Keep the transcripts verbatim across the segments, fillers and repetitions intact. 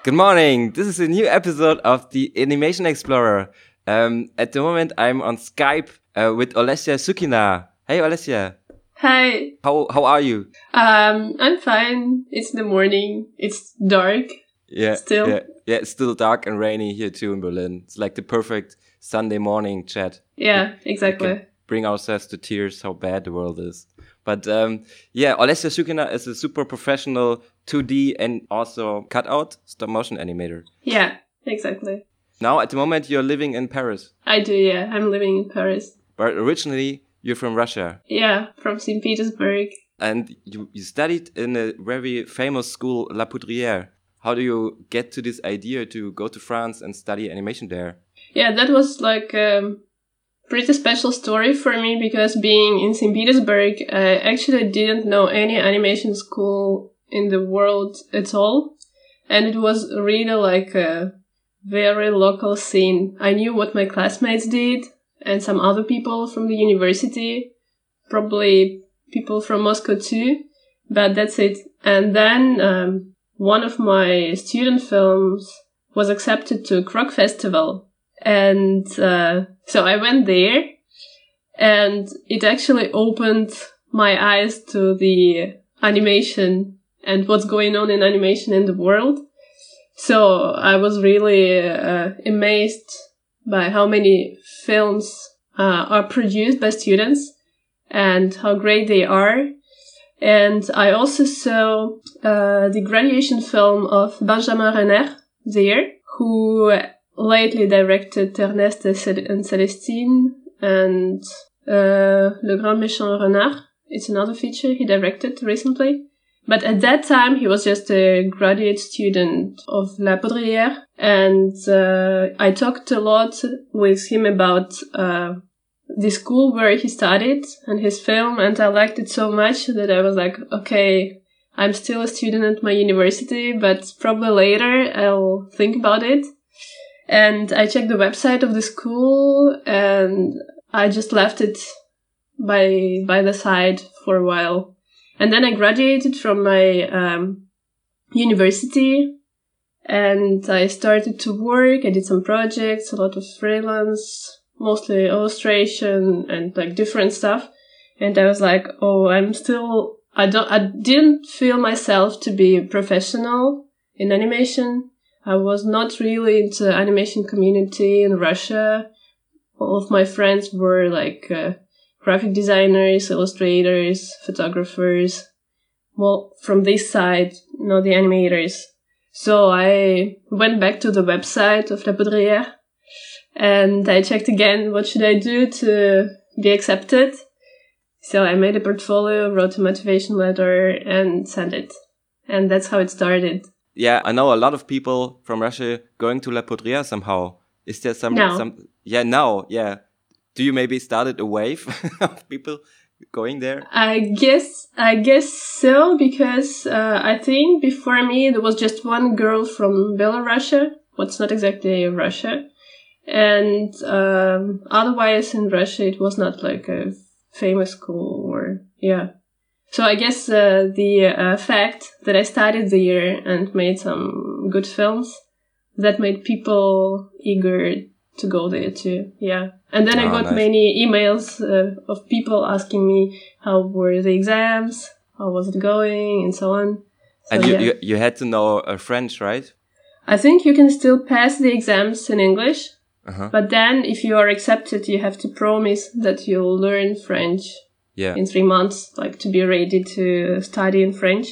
Good morning. This is a new episode of the Animation Explorer. Um, at the moment, I'm on Skype uh, with Olesya Sukina. Hey, Olesya. Hi. How how are you? Um, I'm fine. It's the morning. It's dark. Yeah, Still. yeah, yeah. It's still dark and rainy here too in Berlin. It's like the perfect Sunday morning chat. Yeah, We exactly. can bring ourselves to tears how bad the world is. But um, yeah, Olesya Sukina is a super professional two D and also cutout stop motion animator. Yeah, exactly. Now, at the moment, you're living in Paris. I do, yeah. I'm living in Paris. But originally, you're from Russia. Yeah, from Saint Petersburg. And you, you studied in a very famous school, La Poudrière. How do you get to this idea to go to France and study animation there? Yeah, that was like a pretty special story for me because being in Saint Petersburg, I actually didn't know any animation school in the world at all. And it was really like a very local scene. I knew what my classmates did and some other people from the university, probably people from Moscow too, but that's it. And then um, one of my student films was accepted to Krog Festival. And uh, so I went there, and it actually opened my eyes to the animation and what's going on in animation in the world. So I was really uh, amazed by how many films uh, are produced by students and how great they are. And I also saw uh, the graduation film of Benjamin Renner there, who lately directed Ernest and Célestine and uh, Le Grand Méchant Renard. It's another feature he directed recently. But at that time, he was just a graduate student of La Poudrière. And uh, I talked a lot with him about uh, the school where he studied and his film. And I liked it so much that I was like, okay, I'm still a student at my university, but probably later I'll think about it. And I checked the website of the school and I just left it by by the side for a while. And then I graduated from my um, university and I started to work. I did some projects, a lot of freelance, mostly illustration and like different stuff. And I was like, oh, I'm still, I don't, I didn't feel myself to be a professional in animation. I was not really into animation community in Russia. All of my friends were like uh, graphic designers, illustrators, photographers. Well, from this side, not the animators. So I went back to the website of La Poudrière and I checked again what should I do to be accepted. So I made a portfolio, wrote a motivation letter and sent it. And that's how it started. Yeah, I know a lot of people from Russia going to La Poudrière somehow. Is there some, No. some, yeah, now, yeah. Do you maybe started a wave of people going there? I guess, I guess so, because uh, I think before me there was just one girl from Belarus, what's not exactly Russia. And um, otherwise in Russia it was not like a famous school or, yeah. So I guess uh, the uh, fact that I studied there and made some good films, that made people eager to go there too, yeah. And then Oh, I got nice. many emails uh, of people asking me how were the exams, how was it going, and so on. So, And you, yeah. you, you had to know uh, French, right? I think you can still pass the exams in English, Uh-huh. but then if you are accepted, you have to promise that you'll learn French Yeah. in three months, like to be ready to study in French.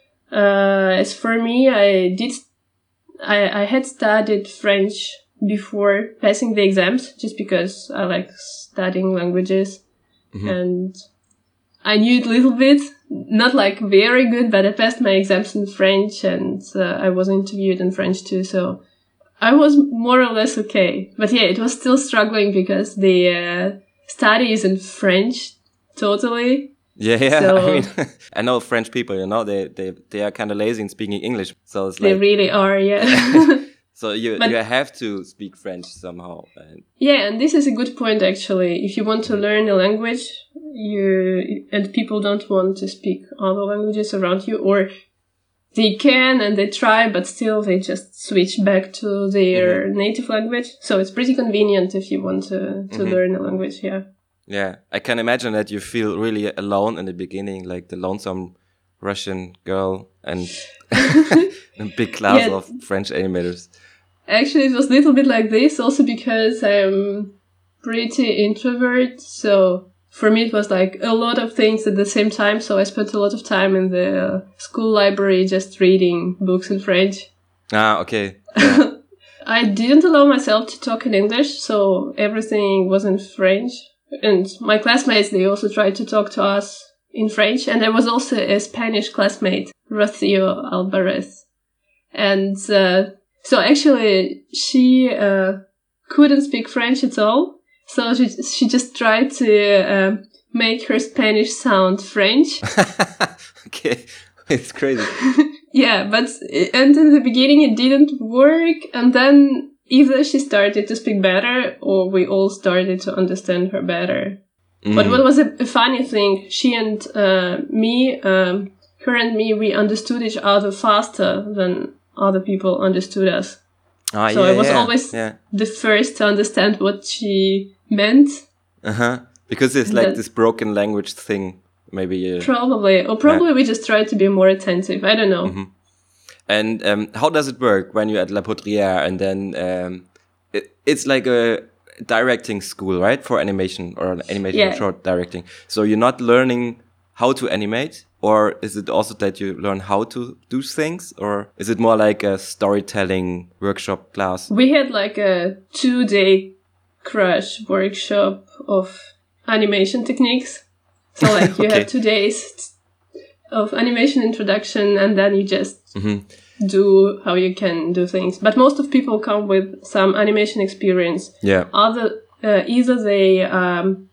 Uh, as for me, I did, I, I had studied French before passing the exams, just because I like studying languages. Mhm. And I knew it a little bit, not like very good, but I passed my exams in French and uh, I was interviewed in French too, so I was more or less okay. But yeah, it was still struggling because the uh, study is in French totally. Yeah, yeah. So- I mean, I know French people, you know, they, they, they are kind of lazy in speaking English. So it's They like, really are, yeah. so you, But- you have to speak French somehow. And Yeah, and this is a good point actually. If you want to learn a language, you and people don't want to speak other languages around you, or they can and they try, but still they just switch back to their mm-hmm. native language. So it's pretty convenient if you want to, to mm-hmm. learn a language, yeah. Yeah, I can imagine that you feel really alone in the beginning, like the lonesome Russian girl and a big class yeah. of French animators. Actually, it was a little bit like this, also because I'm pretty introvert, so for me it was like a lot of things at the same time, so I spent a lot of time in the school library just reading books in French. Ah, okay. Yeah. I didn't allow myself to talk in English, so everything was in French. And my classmates, they also tried to talk to us in French. And there was also a Spanish classmate, Rocío Alvarez. And uh, so actually, she uh, couldn't speak French at all. So she she just tried to uh, make her Spanish sound French. Okay, it's crazy. Yeah, but and in the beginning it didn't work. And then either she started to speak better or we all started to understand her better. Mm. But what was a, a funny thing, she and uh, me, um, her and me, we understood each other faster than other people understood us. Ah, so yeah, I was yeah, always yeah. the first to understand what she meant. Uh-huh. Because it's like that, this broken language thing, maybe. Uh, probably. Or probably yeah. we just tried to be more attentive. I don't know. Mm-hmm. And um, how does it work when you're at La Poudrière and then um, it, it's like a directing school, right? For animation or an animation yeah. short directing. So you're not learning how to animate, or is it also that you learn how to do things, or is it more like a storytelling workshop class? We had like a two-day crash workshop of animation techniques. So like you okay. have two days of animation introduction, and then you just mm-hmm. do how you can do things. But most of people come with some animation experience. Yeah. Other uh, either they um,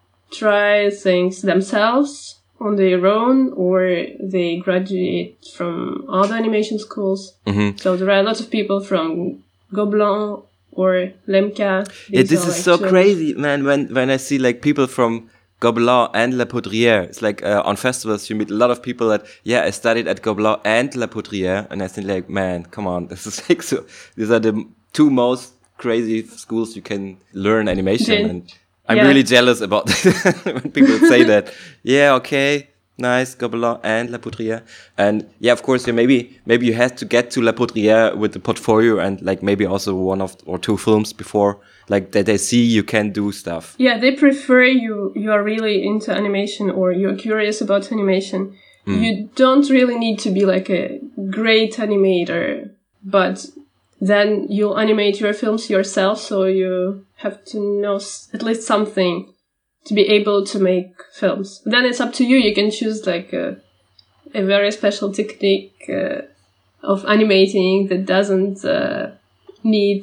try things themselves on their own, or they graduate from other animation schools. Mm-hmm. So there are a lot of people from Gobelin or Lemka. Yeah, this is so crazy, man. When when I see like people from Gobelin and La Poudrière. It's like uh, on festivals you meet a lot of people that, yeah, I studied at Gobelin and La Poudrière, and I think like, man, come on, this is like so. These are the two most crazy schools you can learn animation, yeah. and I'm yeah. really jealous about that when people say that. Yeah, okay, nice, Gobelin and La Poudrière, and yeah, of course, yeah, maybe maybe you had to get to La Poudrière with the portfolio and like maybe also one of or two films before. Like that they see you can do stuff. Yeah, they prefer you you are really into animation or you're curious about animation. Mm. You don't really need to be like a great animator, but then you'll animate your films yourself, so you have to know at least something to be able to make films. Then it's up to you. You can choose like a, a very special technique uh, of animating that doesn't uh, need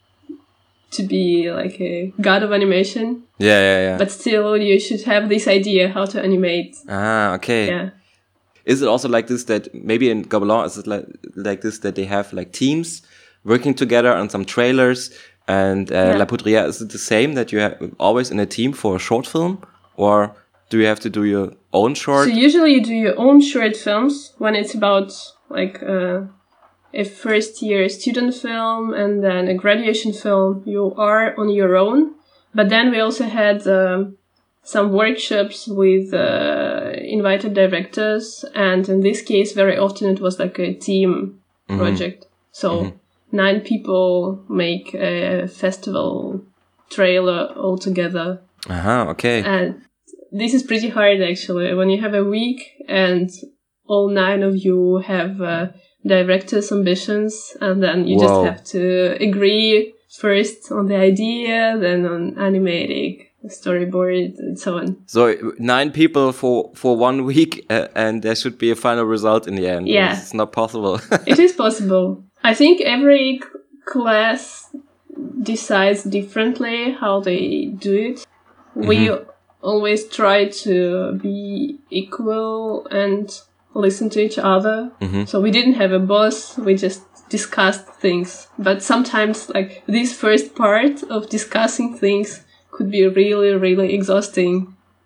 to be like a god of animation. Yeah, yeah, yeah. But still, you should have this idea how to animate. Ah, okay. Yeah. Is it also like this that maybe in Gobelin is it like like this that they have like teams working together on some trailers, and uh, yeah. La Poudrière, is it the same that you have always in a team for a short film, or do you have to do your own short? So usually you do your own short films when it's about like uh, a first year student film and then a graduation film. You are on your own, but then we also had um, some workshops with uh, invited directors, and in this case very often it was like a team mm-hmm. project. So mm-hmm. nine people make a festival trailer all together. Uh-huh, okay. And this is pretty hard actually when you have a week and all nine of you have uh, director's ambitions, and then you Whoa. just have to agree first on the idea, then on animating, storyboard, and so on. So nine people for for one week, uh, and there should be a final result in the end. Yeah, it's not possible. It is possible. I think every c- class decides differently how they do it. Mm-hmm. We always try to be equal and listen to each other. Mm-hmm. So we didn't have a boss, we just discussed things. But sometimes like this first part of discussing things could be really, really exhausting.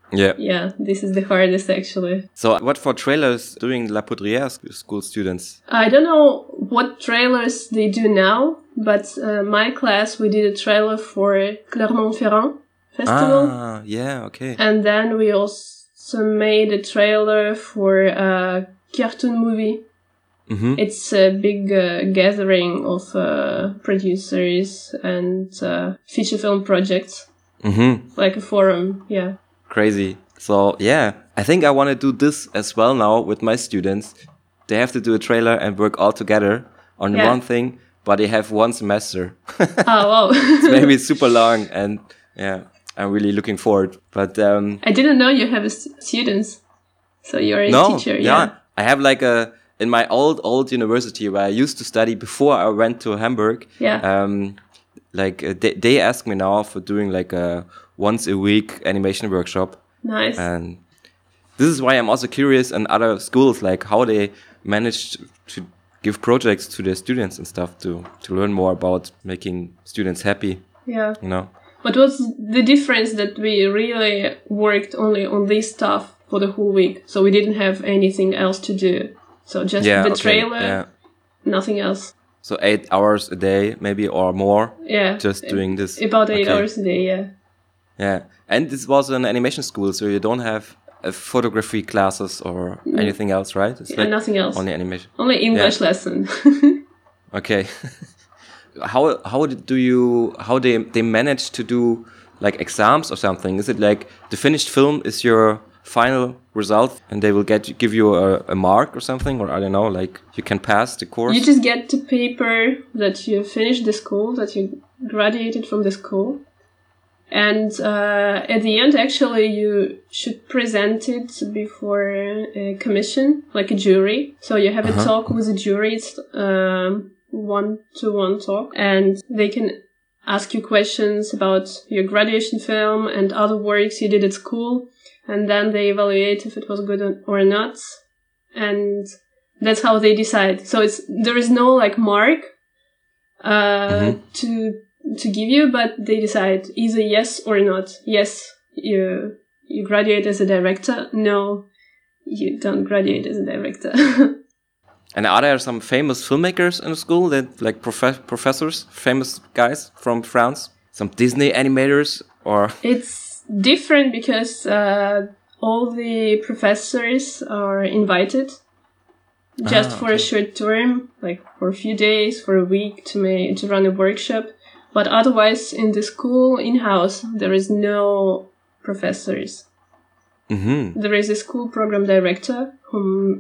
Yeah. Yeah, this is the hardest actually. So what for trailers doing La Poudrière sc- school students? I don't know what trailers they do now, but uh, my class, we did a trailer for Clermont-Ferrand festival. Ah, yeah, okay. And then we also made a trailer for a cartoon movie. Mm-hmm. It's a big uh, gathering of uh, producers and uh, feature film projects. Mm-hmm. Like a forum, yeah. Crazy. So, yeah, I think I want to do this as well now with my students. They have to do a trailer and work all together on Yeah. one thing, but they have one semester. Oh, wow. It's maybe super long, and yeah, I'm really looking forward. But um, I didn't know you have a st- students. So you're a no, teacher, yeah. yeah. I have like a, in my old, old university where I used to study before I went to Hamburg. Yeah. Um, like uh, they, they ask me now for doing like a once a week animation workshop. Nice. And this is why I'm also curious in other schools, like how they managed to give projects to their students and stuff to, to learn more about making students happy, Yeah. you know? What was the difference that we really worked only on this stuff for the whole week? So we didn't have anything else to do. So just Yeah, the okay, trailer, yeah. nothing else. So eight hours a day, maybe, or more, Yeah. just doing this. About eight Okay. hours a day, yeah. Yeah. And this was an animation school, so you don't have uh, photography classes or anything else, right? It's Yeah, nothing else. only animation. Only English lesson. Okay. how how do you how they they manage to do like exams or something? Is it like the finished film is your final result and they will get give you a, a mark or something, or I don't know, like you can pass the course? You just get the paper that you finished the school, that you graduated from the school. And uh, at the end, actually, you should present it before a commission, like a jury. So you have Uh-huh. a talk with a jury. It's um, one-to-one talk. And they can ask you questions about your graduation film and other works you did at school. And then they evaluate if it was good or not. And that's how they decide. So it's there is no, like, mark uh, Mhm. to... to give you, but they decide either yes or not. Yes, you you graduate as a director. No, you don't graduate as a director. And are there some famous filmmakers in the school that like prof- professors, famous guys from France? Some Disney animators or It's different because uh, all the professors are invited just Ah, for a short term, like for a few days, for a week to ma- to run a workshop. But otherwise, in the school, in-house, there is no professors. mm-hmm. There is a school program director who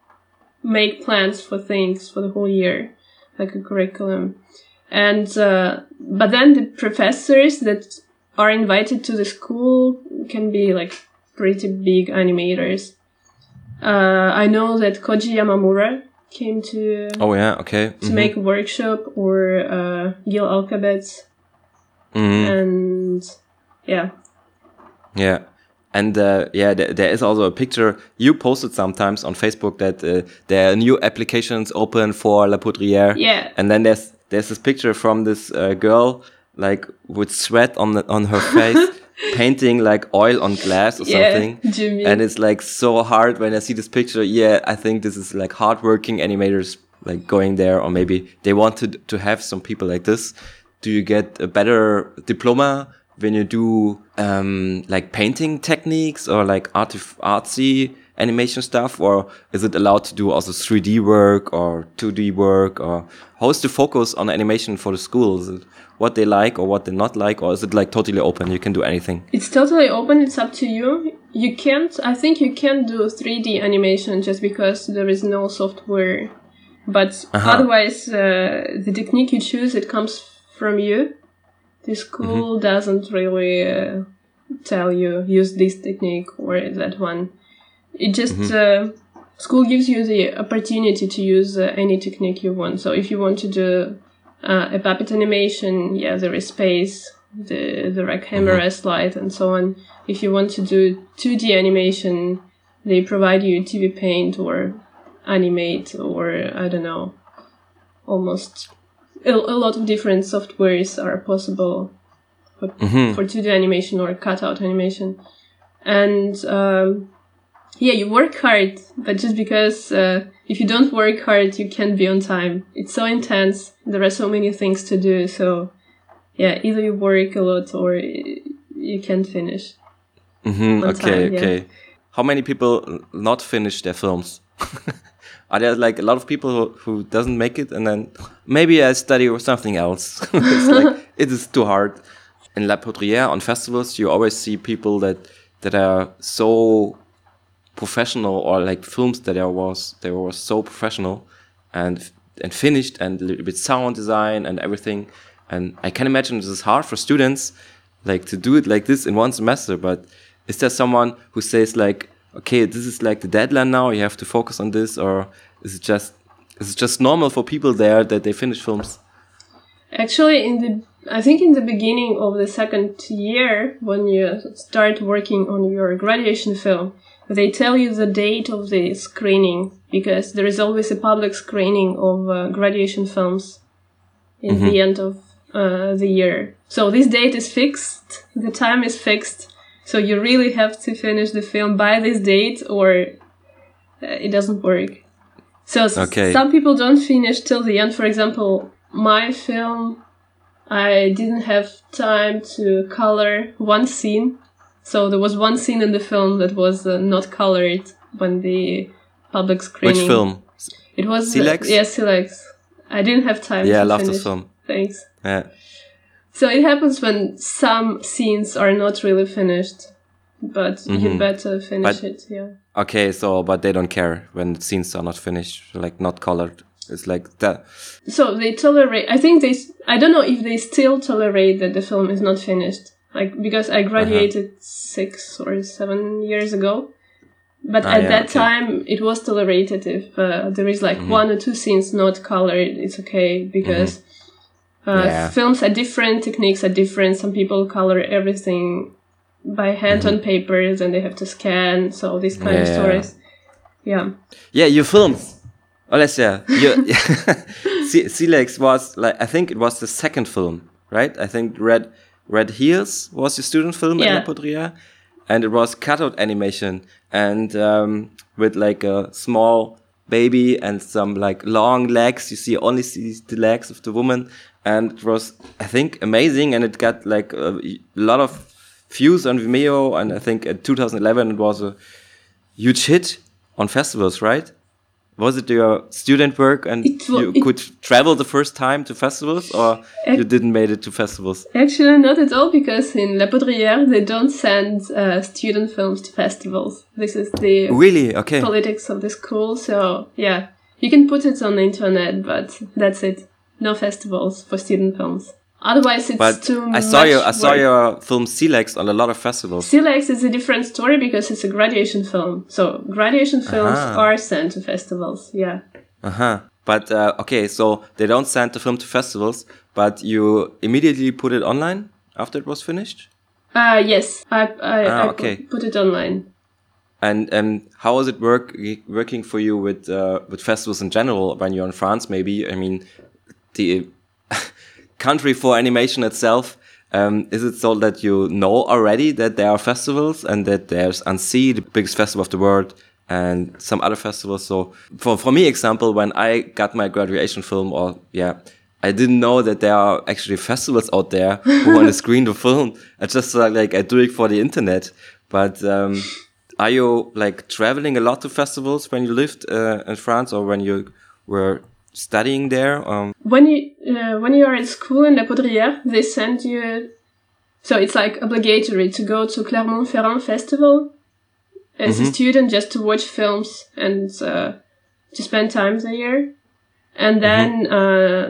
make plans for things for the whole year, like a curriculum. And uh, but then the professors that are invited to the school can be like pretty big animators. Uh, I know that Koji Yamamura came to Oh yeah, okay. to make a workshop, or uh, Gil Alkabetz, Mm-hmm. and yeah. Yeah. And uh, yeah, th- there is also a picture you posted sometimes on Facebook that uh, there are new applications open for La Poudrière. Yeah. And then there's there's this picture from this uh, girl like with sweat on the, on her face, painting like oil on glass or Yeah, something. Jimmy. And it's like so hard when I see this picture. Yeah, I think this is like hardworking animators like going there, or maybe they want to to have some people like this. Do you get a better diploma when you do um, like painting techniques or like artif- artsy animation stuff, or is it allowed to do also three D work or two D work, or how's the focus on animation for the school? Is it what they like or what they not like, or is it like totally open? You can do anything. It's totally open. It's up to you. You can't, I think you can't do three D animation just because there is no software. But Uh-huh. otherwise, uh, the technique you choose, it comes from you. The school doesn't really uh, tell you use this technique or that one. It just uh, school gives you the opportunity to use uh, any technique you want. So if you want to do uh, a puppet animation, yeah, there is space, the the rack camera slide, and so on. If you want to do two D animation, they provide you T V Paint or Animate, or I don't know, almost. A, a lot of different softwares are possible for, Mhm. for two D animation or cutout animation. And um, yeah, you work hard, but just because uh, if you don't work hard, you can't be on time. It's so intense. There are so many things to do. So yeah, either you work a lot or you can't finish. Mm-hmm. on Okay, time, yeah. okay. How many people not finish their films? Are there like a lot of people who, who doesn't make it and then maybe I study or something else? It's like it is too hard. In La Poudrière on festivals, you always see people that that are so professional, or like films that there was they were so professional and and finished and with sound design and everything. And I can imagine this is hard for students like to do it like this in one semester. But is there someone who says like, okay, this is like the deadline now, you have to focus on this, or is it just is it just normal for people there that they finish films? Actually, in the I think in the beginning of the second year, when you start working on your graduation film, they tell you the date of the screening, because there is always a public screening of uh, graduation films in Mm-hmm. the end of uh, the year. So this date is fixed, the time is fixed, so you really have to finish the film by this date or uh, it doesn't work. So s- Okay. some people don't finish till the end. For example, my film, I didn't have time to color one scene. So there was one scene in the film that was uh, not colored when the public screening. Which film? It was Silex? Uh, yeah, Silex. I didn't have time Yeah, I to love finish. this film. Thanks. Yeah. So it happens when some scenes are not really finished, but you Mhm. better finish But- it. Yeah. Okay, so but they don't care when the scenes are not finished, like not colored. It's like that. So they tolerate. I think they. s- I don't know if they still tolerate that the film is not finished. Like because I graduated six or seven years ago, but Ah, at yeah, that okay. time it was tolerated if uh, there is like one or two scenes not colored. It's okay because uh, Yeah. films are different, techniques are different. Some people color everything by hand on paper, then they have to scan. So these kind of Yeah. stories. Yeah. Yeah, your films. Alessia, your Si- Silex was like I think it was the second film, right? I think Red Red Heels was your student film at Yeah. La Poudrière, and it was cutout animation and um, with like a small baby and some like long legs. You see only see the legs of the woman, and it was I think amazing, and it got like a, a lot of views on Vimeo, and I think in two thousand eleven it was a huge hit on festivals, right? Was it your student work and It wa- you it- could travel the first time to festivals, or Ac- you didn't made it to festivals? Actually, not at all, because in La Poudrière they don't send uh, student films to festivals. This is the Really? Okay. politics of the school. So yeah, you can put it on the internet, but that's it. No festivals for student films. Otherwise, it's But too I saw much you. I saw work. your film Silex on a lot of festivals. Silex is a different story because it's a graduation film. So graduation films Aha. are sent to festivals. Yeah. Uh huh. But uh, okay, so they don't send the film to festivals, but you immediately put it online after it was finished. Uh yes, I I, Ah, I okay. put, put it online. And um, how was it work working for you with uh, with festivals in general when you're in France? Maybe I mean the country for animation itself. Um, is it so that you know already that there are festivals and that there's Annecy, the biggest festival of the world, and some other festivals? So for for me, example, when I got my graduation film, or yeah, I didn't know that there are actually festivals out there who want to screen the film. I just uh, like I do it for the internet, but. Um, Are you like traveling a lot to festivals when you lived uh, in France, or when you were studying there? Um, When you uh, when you are at school in La Poudrière, they send you. So it's like obligatory to go to Clermont-Ferrand Festival as a student, just to watch films and uh, to spend time there. And then uh,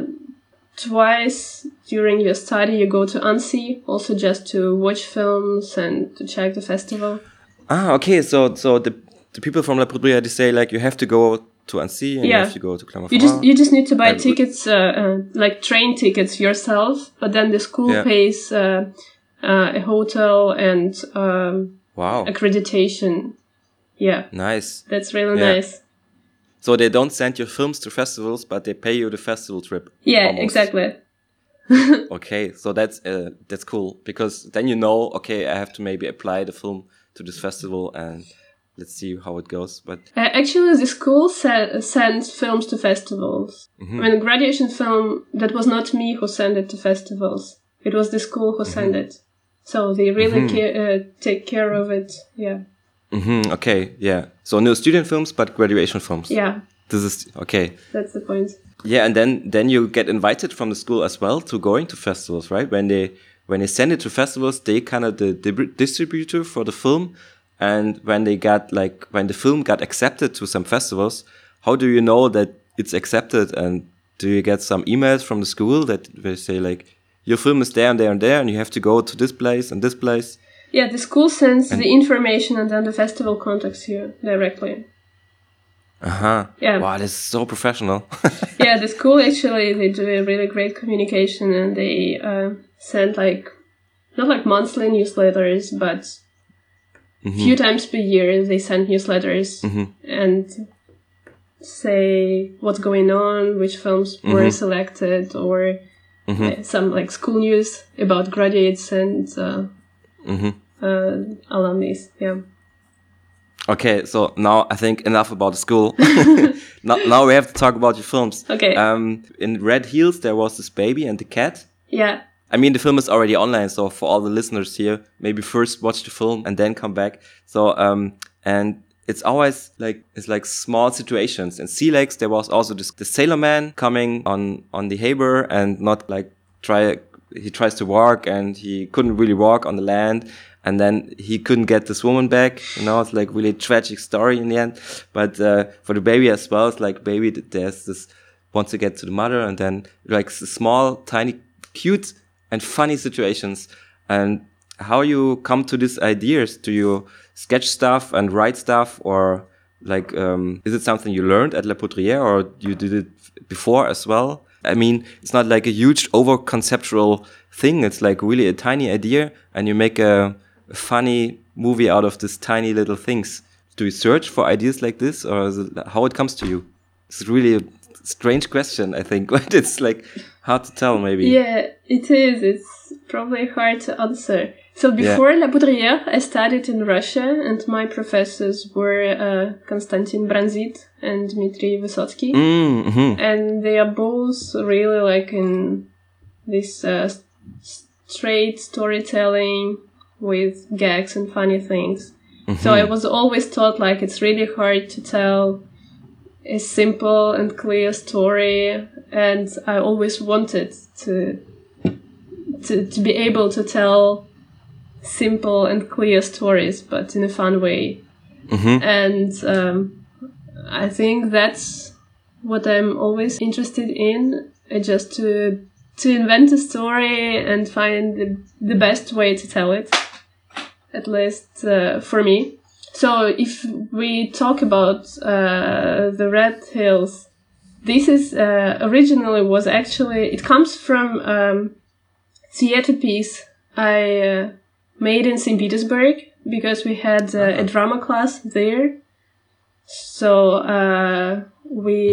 twice during your study, you go to Annecy, also just to watch films and to check the festival. ah, okay. So so the the people from La Poudrière, they say like you have to go to Annecy and you Yeah. have to go to You Clermont-Ferrand. just you just need to buy And- tickets, uh, uh, like train tickets yourself, but then the school Yeah. pays uh, uh, a hotel and um, Wow, accreditation. Yeah, nice. that's really Yeah. nice. So they don't send your films to festivals, but they pay you the festival trip. Yeah, almost. exactly. Okay, so that's uh, that's cool, because then you know, okay, I have to maybe apply the film to this festival and let's see how it goes. But uh, actually, the school se- sends films to festivals. Mm-hmm. When graduation film, that was not me who sent it to festivals. It was the school who mm-hmm. sent it. So they really mm-hmm. ca- uh, take care of it. Yeah. Mm-hmm. Okay. Yeah. So no student films, but graduation films. Yeah. This is okay. That's the point. Yeah, and then then you get invited from the school as well to going to festivals, right? When they when they send it to festivals, they kind of the, the distributor for the film. And when they got like when the film got accepted to some festivals, how do you know that it's accepted? And do you get some emails from the school that they say like your film is there and there and there, and you have to go to this place and this place? Yeah, the school sends and the information, and then the festival contacts you directly. Uh huh. Yeah. Wow, this is so professional. Yeah, the school actually they do a really great communication, and they uh, send like not like monthly newsletters, but mm-hmm. few times per year they send newsletters mm-hmm. and say what's going on, which films mm-hmm. were selected, or mm-hmm. uh, some like school news about graduates and uh, mm-hmm. uh, alumni. Yeah. Okay, so now I think enough about the school. now, now we have to talk about your films. Okay. Um, in Red Heels, there was this baby and the cat. Yeah. I mean, the film is already online, so for all the listeners here, maybe first watch the film and then come back. So, um, and it's always like, it's like small situations. In Sea Lakes, there was also this, the sailor man coming on, on the harbor and not like try, he tries to walk and he couldn't really walk on the land. And then he couldn't get this woman back. You know, it's like really tragic story in the end. But, uh, for the baby as well, it's like baby, there's this, wants to get to the mother and then like small, tiny, cute, and funny situations. And how you come to these ideas? Do you sketch stuff and write stuff, or like um is it something you learned at La Poudrière, or you did it before as well? I mean, it's not like a huge over conceptual thing. It's like really a tiny idea, and you make a, a funny movie out of this tiny little things. Do you search for ideas like this, or is it how it comes to you? It's really a strange question, I think, but it's like hard to tell, maybe. Yeah, it is. It's probably hard to answer. So before yeah. La Poudrière, I studied in Russia, and my professors were uh, Konstantin Branzit and Dmitry Vysotsky. Mm-hmm. And they are both really like in this uh, straight storytelling with gags and funny things. Mm-hmm. So I was always taught like it's really hard to tell a simple and clear story, and I always wanted to to to be able to tell simple and clear stories, but in a fun way. Mm-hmm. And um, I think that's what I'm always interested in, uh, just to to invent a story and find the, the best way to tell it, at least uh, for me. So if we talk about uh, the Red Hills, this is uh, originally was actually, it comes from um, theater piece I uh, made in Saint Petersburg, because we had uh, uh-huh. a drama class there. So uh, we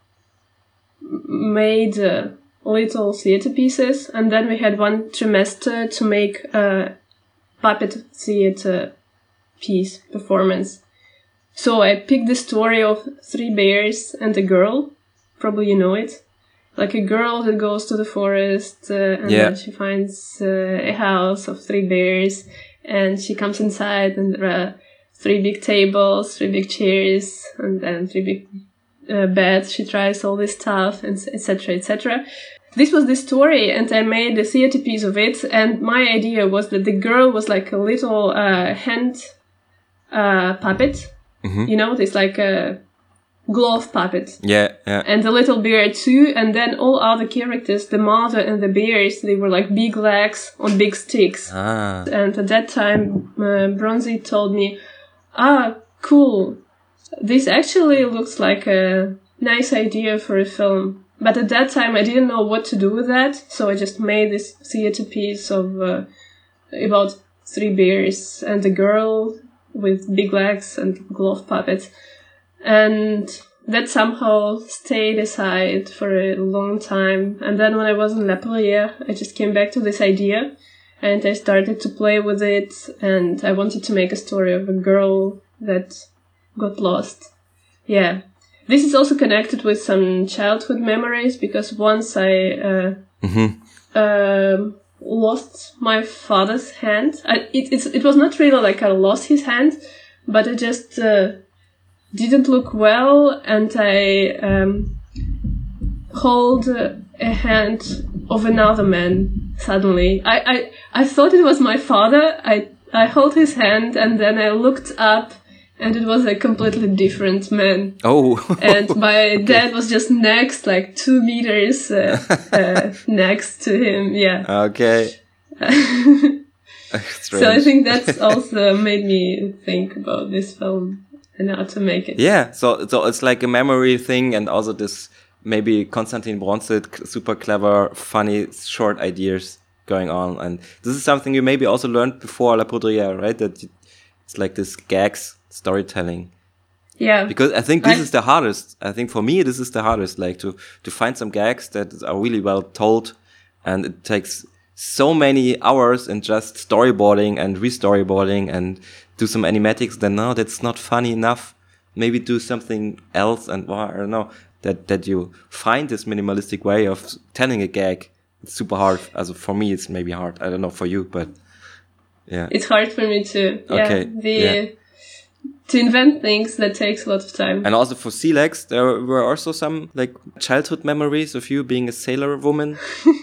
mm-hmm. made uh, little theater pieces, and then we had one trimester to make a puppet theater piece performance. So I picked the story of three bears and a girl. Probably you know it. Like a girl that goes to the forest uh, and yeah. then she finds uh, a house of three bears, and she comes inside and there are three big tables, three big chairs, and then three big uh, beds. She tries all this stuff, and et cetera, et cetera. This was the story, and I made a theater piece of it. And my idea was that the girl was like a little uh, hand uh, puppet. Mm-hmm. You know, this like a glove puppet. Yeah, yeah. And the little bear too. And then all other characters, the mother and the bears, they were like big legs on big sticks. Ah. And at that time, uh, Bronzy told me, ah, cool. This actually looks like a nice idea for a film. But at that time, I didn't know what to do with that. So I just made this theater piece of uh, about three bears and a girl with big legs and glove puppets. And that somehow stayed aside for a long time. And then when I was in La Poudrière, I just came back to this idea. and I started to play with it, and I wanted to make a story of a girl that got lost. Yeah. This is also connected with some childhood memories, because once I uh, Mm-hmm. uh, lost my father's hand. I, it, it's, it was not really like I lost his hand, but I just uh, didn't look well, and I um, hold uh, a hand of another man suddenly. I, I, I thought it was my father. I, I hold his hand, and then I looked up, and it was a completely different man. Oh. And my dad was just next, like two meters uh, uh, next to him. Yeah. Okay. So I think that's also made me think about this film and how to make it. Yeah. So so it's like a memory thing, and also this maybe Konstantin Bronzit, super clever, funny, short ideas going on. And this is something you maybe also learned before La Poudrière, right? That it's like this gags storytelling. Yeah. Because I think this I, is the hardest. I think for me, this is the hardest, like to, to find some gags that are really well told. And it takes so many hours in just storyboarding and re-storyboarding and do some animatics. Then no, that's not funny enough. Maybe do something else. And well, I don't know, that, that you find this minimalistic way of telling a gag. It's super hard. Also for me, it's maybe hard. I don't know for you, but yeah. It's hard for me too. Yeah. Okay. The, yeah. To invent things, that takes a lot of time. And also for Silex, there were also some like childhood memories of you being a sailor woman.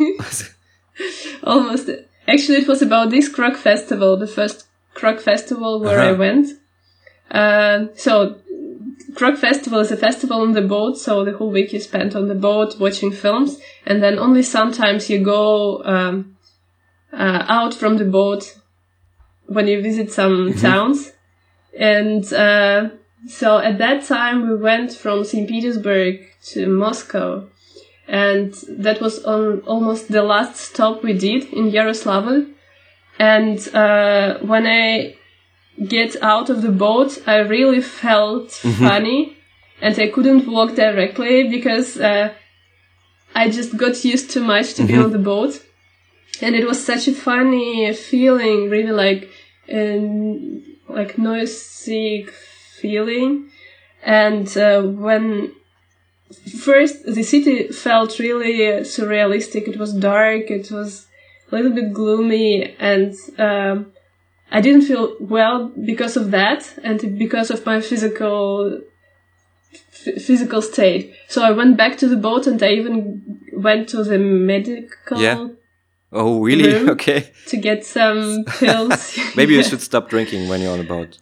Almost. Actually, it was about this Krug festival, the first Krug festival where uh-huh. I went. Uh, so, Krug festival is a festival on the boat, so the whole week you spend on the boat watching films, and then only sometimes you go um, uh, out from the boat when you visit some mm-hmm. towns. And uh, so at that time we went from Saint Petersburg to Moscow, and that was on almost the last stop we did in Yaroslavl. And uh, when I get out of the boat, I really felt mm-hmm. funny, and I couldn't walk directly because uh, I just got used too much to mm-hmm. be on the boat. And it was such a funny feeling, really like um, like noisy feeling. And uh, when first the city felt really surrealistic, it was dark, it was a little bit gloomy, and um, I didn't feel well because of that and because of my physical f- physical state. So I went back to the boat, and I even went to the medical yeah. Oh, really? room okay. To get some pills. Maybe you should stop drinking when you're on a boat.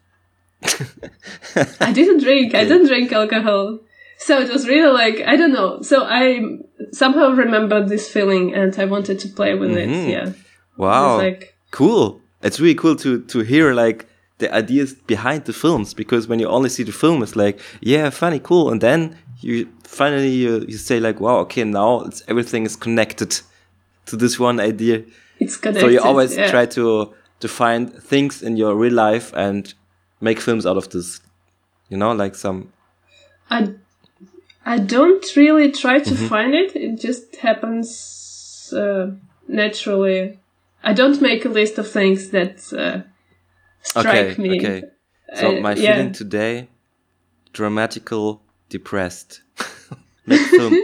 I didn't drink. Okay. I didn't drink alcohol. So it was really like, I don't know. So I somehow remembered this feeling, and I wanted to play with mm-hmm. it. Yeah. Wow. It like, cool. It's really cool to, to hear like the ideas behind the films, because when you only see the film, it's like, yeah, funny, cool. And then you finally, you, you say like, wow, okay, now it's, everything is connected to this one idea. It's connected. So you always yeah. try to, to find things in your real life and make films out of this, you know, like some. I, I don't really try to mm-hmm. find it. It just happens uh, naturally. I don't make a list of things that uh, strike okay, me. Okay. So uh, my yeah. feeling today, dramatical, depressed. Make film.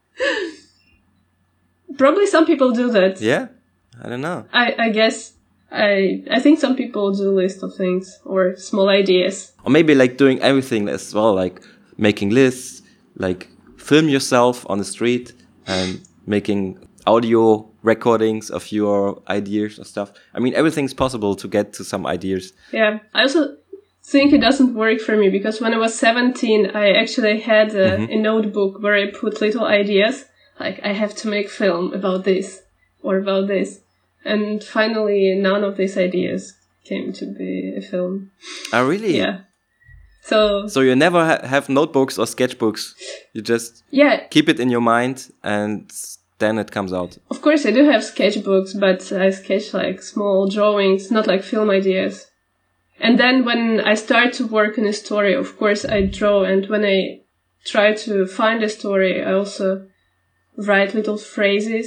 Probably some people do that. Yeah? I don't know. I, I guess. I I think some people do a list of things or small ideas. Or maybe like doing everything as well, like making lists, like film yourself on the street and making audio recordings of your ideas or stuff. I mean, everything's possible to get to some ideas. Yeah. I also think it doesn't work for me because when I was seventeen, I actually had a, mm-hmm. a notebook where I put little ideas. Like, I have to make film about this or about this. And finally, none of these ideas came to be a film. Oh, really? Yeah. So So you never ha- have notebooks or sketchbooks. You just yeah. keep it in your mind and then it comes out. Of course, I do have sketchbooks, but I sketch like small drawings, not like film ideas. And then when I start to work on a story, of course, I draw. And when I try to find a story, I also write little phrases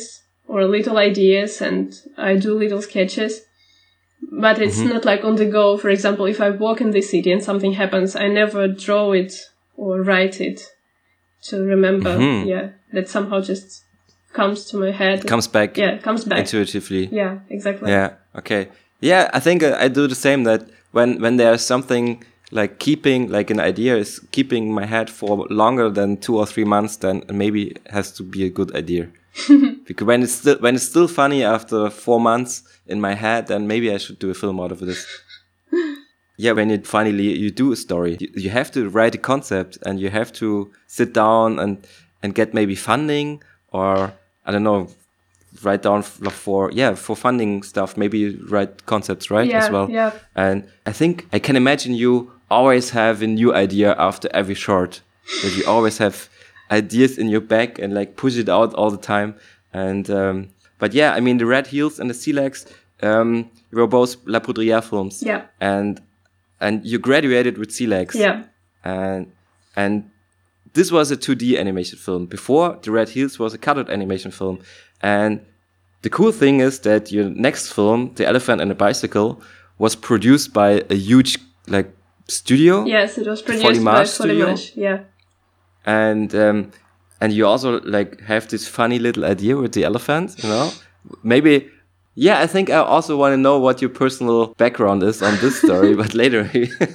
or little ideas, and I do little sketches. But it's Mm-hmm. not like on the go. For example, if I walk in the city and something happens, I never draw it or write it to remember. Mm-hmm. Yeah, that somehow just comes to my head. It comes back Yeah, it comes back. intuitively. Yeah, exactly. Yeah. Okay. Yeah, I think uh, I do the same. That when when there's something like keeping, like an idea is keeping in my head for longer than two or three months, then maybe it has to be a good idea. Because when it's still when it's still funny after four months in my head, then maybe I should do a film out of this. Yeah, when you finally you do a story, you, you have to write a concept, and you have to sit down and and get maybe funding, or I don't know, write down f- for yeah for funding stuff. Maybe you write concepts, right, Yeah, as well. yeah. And I think I can imagine you always have a new idea after every short. That you always have ideas in your back and like push it out all the time. And um, but yeah, I mean the Red Heels and the Sea Legs, um, were both La Poudrière films. Yeah. And and you graduated with Sea Legs. Yeah. And and this was a two D animation film. Before, the Red Heels was a colored animation film. And the cool thing is that your next film, The Elephant and the Bicycle, was produced by a huge like studio. Yes, it was produced Foliage by Studio. Foliage. Yeah. And um, and you also like have this funny little idea with the elephant, you know? Maybe, yeah, I think I also want to know what your personal background is on this story, but later.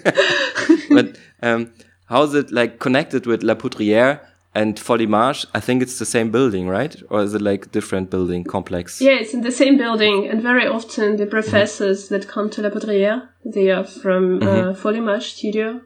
But um, how is it like connected with La Poudrière and Foliage? I think it's the same building, right? Or is it like a different building complex? Yeah, it's in the same building, and very often the professors that come to La Poudrière, they are from Mm-hmm. uh, Foliage Studio.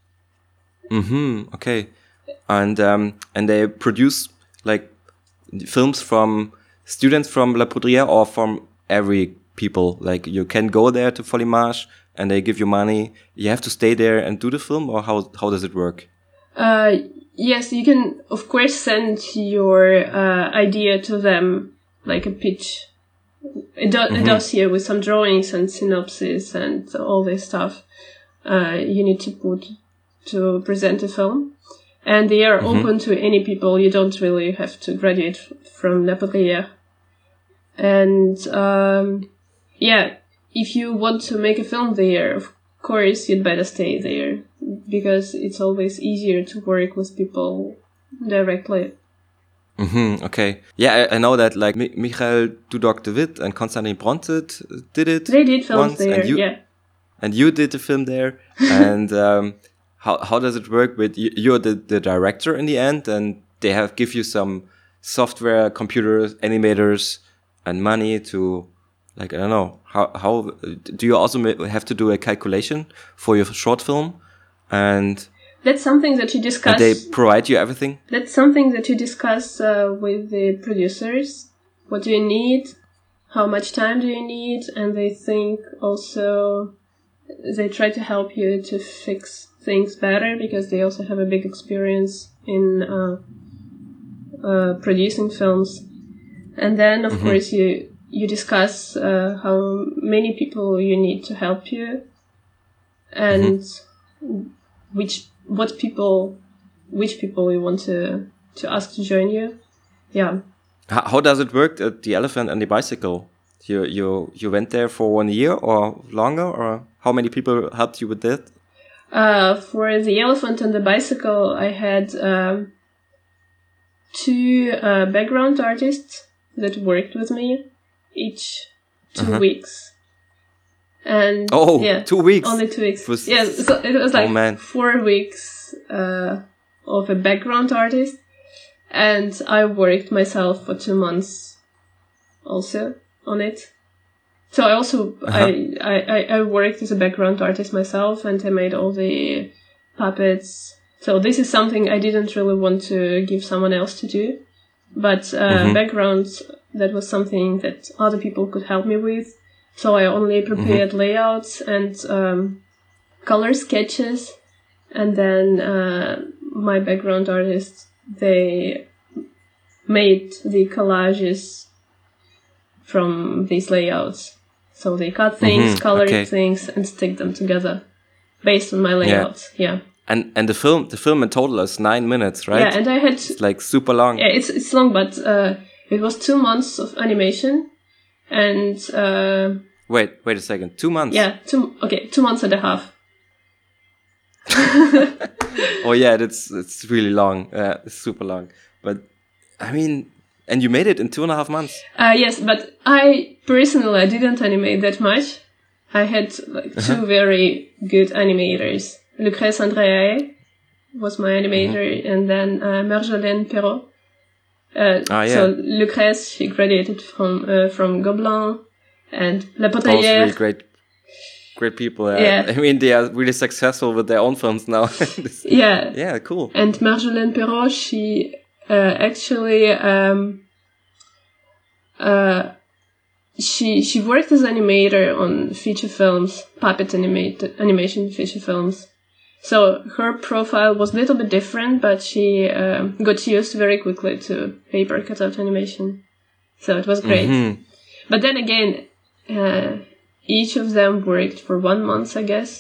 Mm-hmm. Okay. And um, and they produce like films from students from La Poudrière or from every people. Like you can go there to Foliage and they give you money. You have to stay there and do the film, or how how does it work? Uh, yes, you can, of course, send your uh, idea to them, like a pitch, a, do- Mm-hmm. a dossier with some drawings and synopsis and all this stuff uh, you need to put to present a film. And they are Mm-hmm. open to any people. You don't really have to graduate f- from La Poudrière. And um, yeah, if you want to make a film there, of course, you'd better stay there, because it's always easier to work with people directly. Mm-hmm. Okay. Yeah, I, I know that like Mi- Michael Dudok de Wit and Konstantin Brontet did it. They did films once, there, and you, yeah. And you did the film there. And um, how how does it work with you? You're the, the director in the end, and they have give you some software, computers, animators, and money to, like, I don't know, how how do you also ma- have to do a calculation for your short film, and, That's something that you discuss. and they provide you everything? That's something that you discuss uh, with the producers. What do you need? How much time do you need? And they think also, they try to help you to fix things better, because they also have a big experience in uh, uh, producing films. And then, of Mm-hmm. course, you you discuss uh, how many people you need to help you, and which what people, which people you want to to ask to join you. Yeah. How, how does it work at The Elephant and the Bicycle? You you you went there for one year or longer, or how many people helped you with that? Uh, for The Elephant and the Bicycle, I had um, two uh, background artists that worked with me, each two Uh-huh. weeks. And Oh, yeah, two weeks. only two weeks. Was- yeah, so it was like Oh, man. four weeks uh, of a background artist, and I worked myself for two months also on it. So I also Uh-huh. I, I, I- I worked as a background artist myself, and I made all the puppets. So this is something I didn't really want to give someone else to do, but uh, Mhm. backgrounds, that was something that other people could help me with. So I only prepared layouts and um, color sketches, and then uh, my background artists, they made the collages from these layouts. So they cut things, Mhm, colored okay. things, and stick them together based on my layouts. Yeah, And and the film the film in total is nine minutes, right? yeah, and I had It's like super long. yeah, it's it's long, but uh, it was two months of animation, and uh, wait, wait a second, two months. Yeah, two okay, two months and a half. Oh yeah, that's it's really long. Uh, it's super long. But I mean, and you made it in two and a half months. Uh, yes, but I personally I didn't animate that much. I had like two uh-huh. very good animators. Lucrèce Andréae was my animator, mm-hmm. and then uh, Marjolaine Perrault. Uh, ah, yeah. So Lucrèce, she graduated from uh, from Gobelin, and La Potaillère. Both really great, great people. Uh, yeah, I mean they are really successful with their own films now. yeah, yeah, cool. And Marjolaine Perrault, she uh, actually um, uh, she she worked as animator on feature films, puppet animated animation feature films. So her profile was a little bit different, but she uh, got used very quickly to paper cutout animation. So it was great. Mm-hmm. But then again, uh, each of them worked for one month, I guess.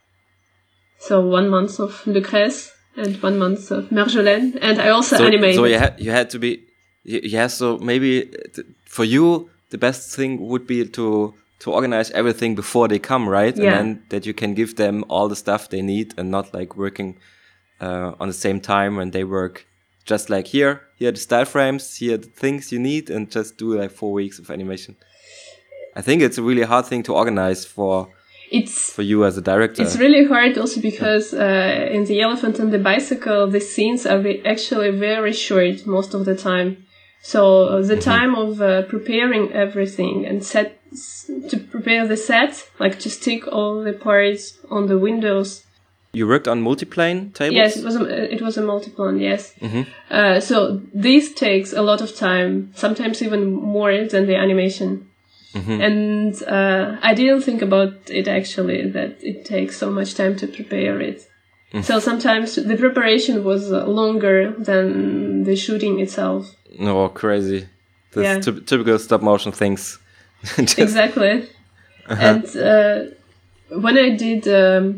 So one month of Lucrèce and one month of Marjolaine. And I also so, animated. So you had, you had to be... Yeah, so maybe th- for you, the best thing would be to... to organize everything before they come, right? Yeah. And then that you can give them all the stuff they need and not like working uh, on the same time when they work. Just like here, here are the style frames, here are the things you need, and just do like four weeks of animation. I think it's a really hard thing to organize for it's for you as a director. It's really hard also because uh, in The Elephant and the Bicycle, the scenes are re- actually very short most of the time. So the mm-hmm. time of uh, preparing everything and set to prepare the set, like to stick all the parts on the windows. You worked on multiplane tables? Yes, it was a, it was a multiplane, yes. Mm-hmm. Uh, so this takes a lot of time, sometimes even more than the animation. Mm-hmm. And uh, I didn't think about it actually, that it takes so much time to prepare it. Mm. So sometimes the preparation was longer than the shooting itself. Oh, crazy. This yeah. t- typical stop motion things. Exactly. Uh-huh. And uh, when I did um,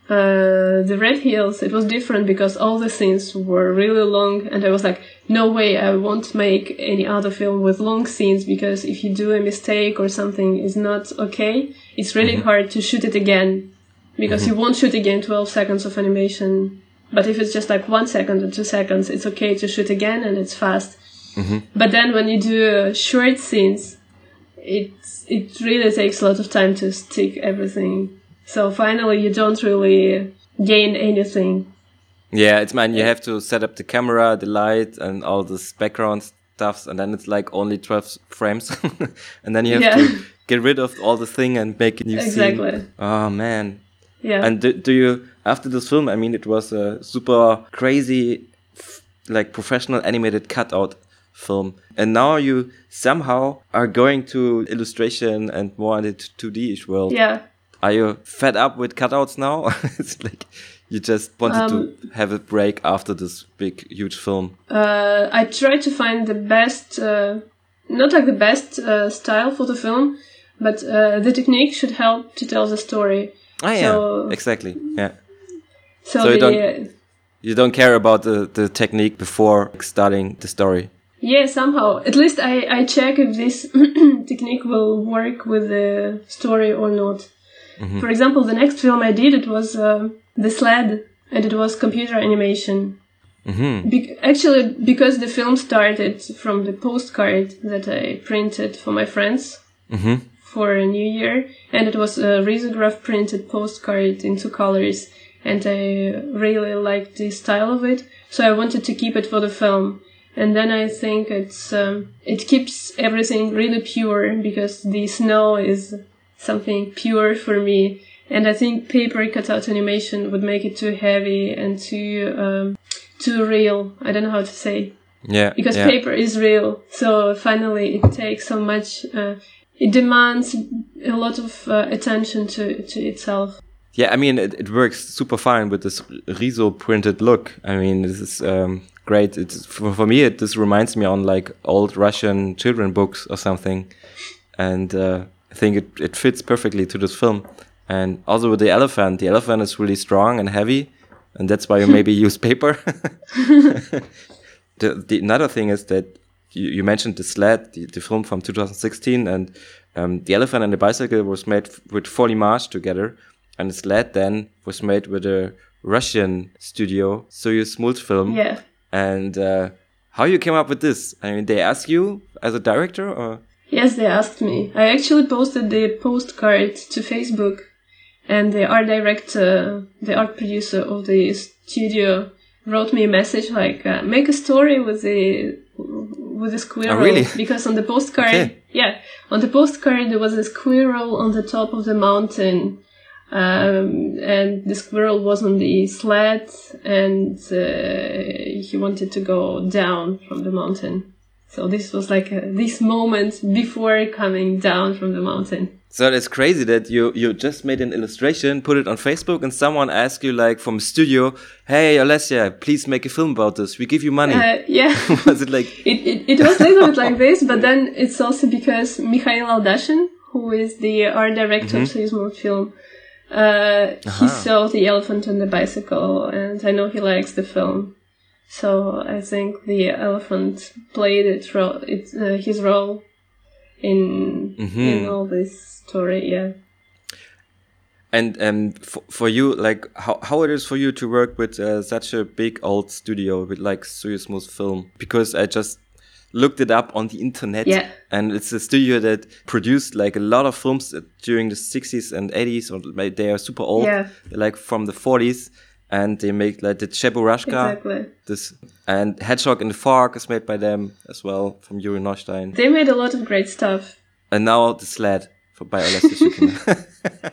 uh, the Red Hills, it was different because all the scenes were really long, and I was like, no way, I won't make any other film with long scenes, because if you do a mistake or something is not okay, it's really mm-hmm. hard to shoot it again, because mm-hmm. you won't shoot again twelve seconds of animation. But if it's just like one second or two seconds, it's okay to shoot again and it's fast. Mm-hmm. But then when you do uh, short scenes, it it really takes a lot of time to stick everything. So finally, you don't really gain anything. Yeah, it's man. You have to set up the camera, the light, and all this background stuff, and then it's like only twelve frames, and then you have yeah. to get rid of all the thing and make a new exactly. scene. Oh man. Yeah. And do, do you after this film? I mean, it was a super crazy, f- like professional animated cutout film, and now you somehow are going to illustration and more into two D-ish world. Yeah. Are you fed up with cutouts now? It's like you just wanted um, to have a break after this big, huge film. Uh, I tried to find the best, uh, not like the best uh, style for the film, but uh, the technique should help to tell the story. Ah, yeah, so, exactly. Yeah. So, so the, you don't you don't care about the, the technique before starting the story. Yeah, somehow. At least I, I check if this technique will work with the story or not. Mm-hmm. For example, the next film I did, it was uh, The Sled, and it was computer animation. Mm-hmm. Be- actually, because the film started from the postcard that I printed for my friends mm-hmm. for a New Year, and it was a risograph printed postcard in two colors, and I really liked the style of it, so I wanted to keep it for the film. And then I think it's um, it keeps everything really pure, because the snow is something pure for me. And I think paper cutout animation would make it too heavy and too um, too real. I don't know how to say. Yeah. Because yeah. paper is real. So finally it takes so much, uh, it demands a lot of uh, attention to, to itself. Yeah, I mean, it, it works super fine with this Riso printed look. I mean, this is um, great. It's for, for me, it this reminds me on like old Russian children books or something. And uh, I think it, it fits perfectly to this film. And also with the elephant, the elephant is really strong and heavy, and that's why you maybe use paper. the, the another thing is that you, you mentioned the Sled, the, the film from two thousand sixteen, and um, The Elephant and the Bicycle was made f- with four images together, and the Sled then was made with a Russian studio, Soyuz Multfilm. Yeah. And uh, how you came up with this? I mean, they asked you as a director, or? Yes, they asked me. I actually posted the postcard to Facebook, and the art director, the art producer of the studio, wrote me a message like, uh, make a story with the with a squirrel. Oh, really? Because on the postcard, Okay. yeah, on the postcard there was a squirrel on the top of the mountain, um, and the squirrel was on the sled, and uh, he wanted to go down from the mountain. So this was like a, this moment before coming down from the mountain. So that's crazy that you, you just made an illustration, put it on Facebook, and someone asked you, like, from a studio, hey, Alessia, please make a film about this. We give you money. Uh, yeah. Was it like... It, it, it was a little bit like this, but then it's also because Mikhail Aldashin, who is the art director Mm-hmm. of Soyuz Multfilm, uh, Uh-huh. he saw The Elephant and the Bicycle, and I know he likes the film. So I think the elephant played it ro- it, uh, his role in Mm-hmm. in all this story, yeah. And um, for, for you, like, how, how it is for you to work with uh, such a big old studio with, like, Soyuz Multfilm? Because I just looked it up on the internet. Yeah. And it's a studio that produced, like, a lot of films during the sixties and eighties. Or like, they are super old. Yeah. Like, from the forties. And they make, like, the Cheburashka. Exactly. This, and Hedgehog in the Fog is made by them as well, from Yuri Neustein. They made a lot of great stuff. And now The Sled for by Alessia Shukina.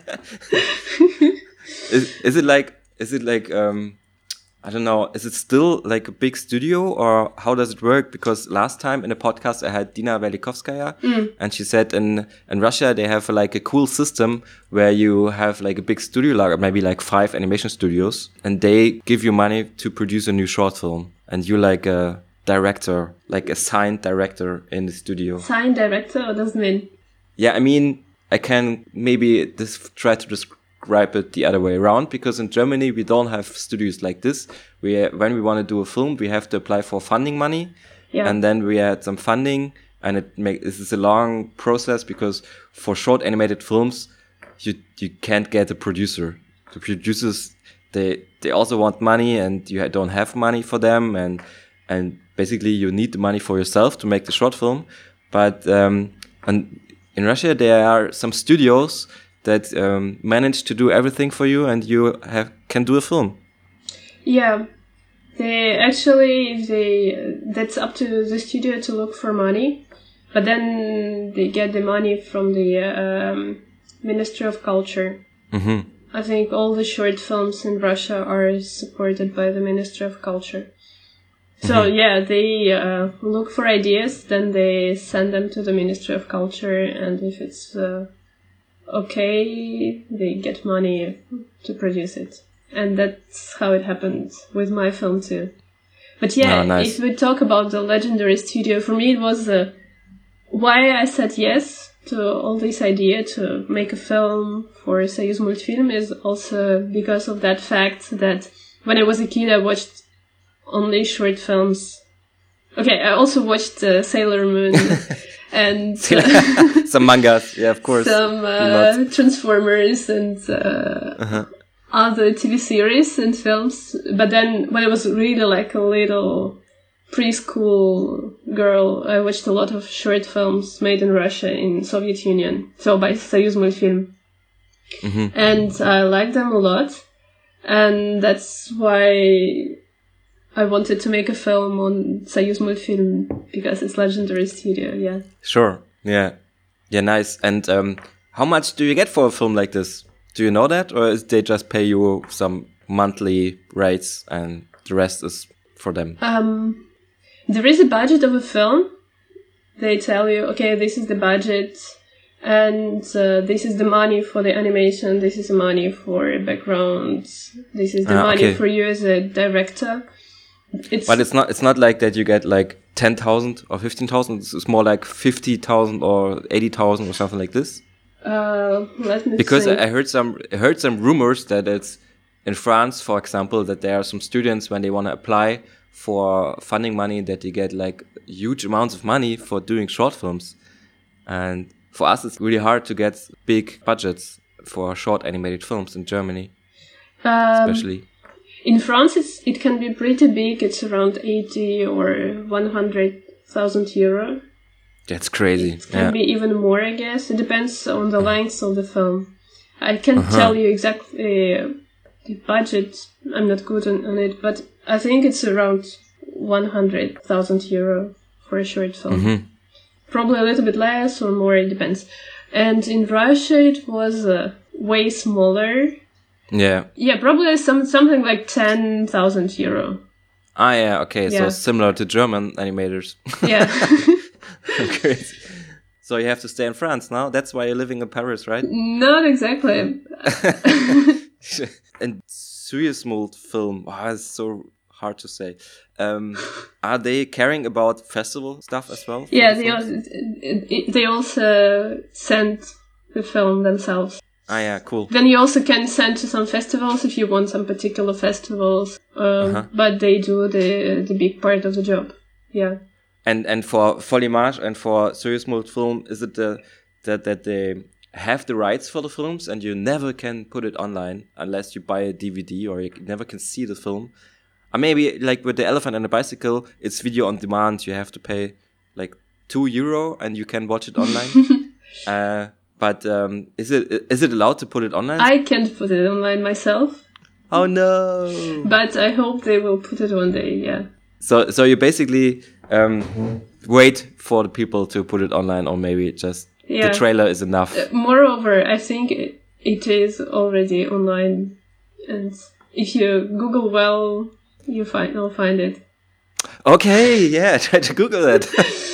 is, is it like, is it like, um, I don't know, is it still like a big studio, or how does it work? Because last time in a podcast I had Dina Velikovskaya, Mm. and she said in, in Russia they have like a cool system where you have like a big studio, like maybe like five animation studios, and they give you money to produce a new short film. And you're like a director, like a signed director in the studio. Sign director, what does it mean? Yeah, I mean, I can maybe this try to describe it the other way around, because in Germany we don't have studios like this. We when we want to do a film, we have to apply for funding money, Yeah. and then we had some funding, and it make this is a long process, because for short animated films, you you can't get a producer. The producers they they also want money, and you don't have money for them, and and basically you need the money for yourself to make the short film, but um and in Russia, there are some studios that um, manage to do everything for you, and you have can do a film. Yeah, they actually they that's up to the studio to look for money, but then they get the money from the um, Ministry of Culture. Mm-hmm. I think all the short films in Russia are supported by the Ministry of Culture. So Mhm. yeah, they uh, look for ideas, then they send them to the Ministry of Culture, and if it's uh, okay, they get money to produce it. And that's how it happened with my film too. But yeah, Oh, nice. if we talk about the legendary studio, for me it was uh, why I said yes to all this idea to make a film for Soyuz Multfilm is also because of that fact that when I was a kid I watched only short films. Okay, I also watched uh, Sailor Moon and uh, Some mangas, yeah, of course. some uh, Transformers and uh, Uh-huh. other T V series and films. But then when I was really like a little preschool girl, I watched a lot of short films made in Russia in Soviet Union, so by Soyuz Multfilm. Mm-hmm. And I liked them a lot, and that's why I wanted to make a film on Soyuz Multfilm, because it's legendary studio, yeah. Sure, yeah, yeah, nice. And um, how much do you get for a film like this? Do you know that, or is they just pay you some monthly rates and the rest is for them? Um, there is a budget of a film. They tell you, okay, this is the budget, and uh, this is the money for the animation, this is the money for backgrounds, this is the Ah, money okay. for you as a director. It's But it's not it's not like that you get like ten thousand or fifteen thousand. It's more like fifty thousand or eighty thousand or something like this. uh, let me Because think. I I heard some I heard some rumors that it's in France, for example, that there are some students when they want to apply for funding money that you get like huge amounts of money for doing short films. And for us, it's really hard to get big budgets for short animated films in Germany, Um, especially. In France, it's, it can be pretty big. It's around eighty or one hundred thousand euro. That's crazy. It can Yeah. be even more, I guess. It depends on the length of the film. I can't Uh-huh. tell you exactly uh, the budget. I'm not good on, on it, but I think it's around one hundred thousand euro for a short film. Mhm. Probably a little bit less or more, it depends. And in Russia, it was uh, way smaller. Yeah. Yeah, probably some something like ten thousand euro. Ah, yeah. Okay. Yeah. So similar to German animators. Yeah. Crazy. So you have to stay in France now. That's why you're living in Paris, right? Not exactly. And Suezmold film. Wow, it's so hard to say. Um, are they caring about festival stuff as well? for Yeah, the they films? also, they also send the film themselves. Ah, yeah. Cool. Then you also can send to some festivals if you want some particular festivals. Um, Uh-huh. But they do the the big part of the job. Yeah. And and for Folimage and for Suezmold film, is it the that that they have the rights for the films and you never can put it online unless you buy a D V D or you never can see the film? Or maybe like with the Elephant and the Bicycle, it's video on demand. You have to pay like two euro and you can watch it online. uh, but um, is it is it allowed to put it online? I can't put it online myself, oh no! but I hope they will put it one day, yeah. So so you basically um, wait for the people to put it online, or maybe just Yeah. the trailer is enough. Uh, moreover, I think it, it is already online, and if you Google well, you find you'll find it. Okay, yeah, try to Google that.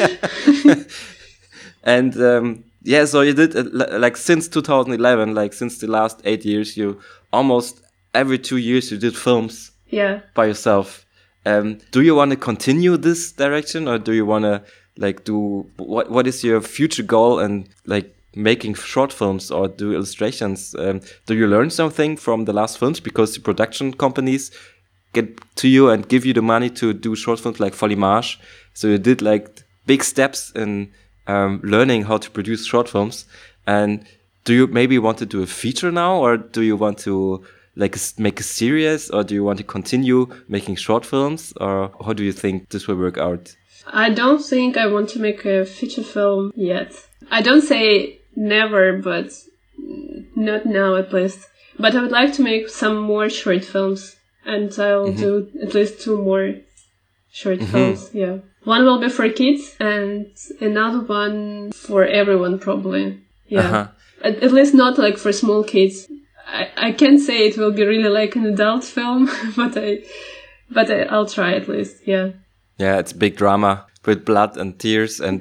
And um, yeah, so you did uh, li- like since two thousand eleven, like since the last eight years, you almost every two years you did films Yeah. by yourself. Um, do you want to continue this direction, or do you want to like do what? What is your future goal and like making short films or do illustrations? Um, do you learn something from the last films because the production companies get to you and give you the money to do short films like Folimage? So you did like big steps in um, learning how to produce short films. And do you maybe want to do a feature now, or do you want to like s- make a series, or do you want to continue making short films, or how do you think this will work out? I don't think I want to make a feature film yet. I don't say never, but not now at least. But I would like to make some more short films, and I'll Mm-hmm. do at least two more short Mm-hmm. films, yeah. One will be for kids, and another one for everyone, probably. Yeah. Uh-huh. At, at least not like for small kids. I, I can't say it will be really like an adult film, but I, but I, I'll try at least, yeah. Yeah, it's big drama with blood and tears and